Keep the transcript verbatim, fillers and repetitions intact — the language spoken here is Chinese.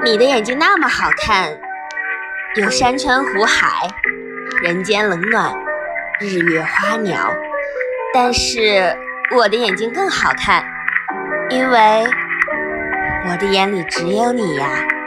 你的眼睛那么好看，有山川湖海，人间冷暖，日月花鸟。但是我的眼睛更好看，因为我的眼里只有你呀。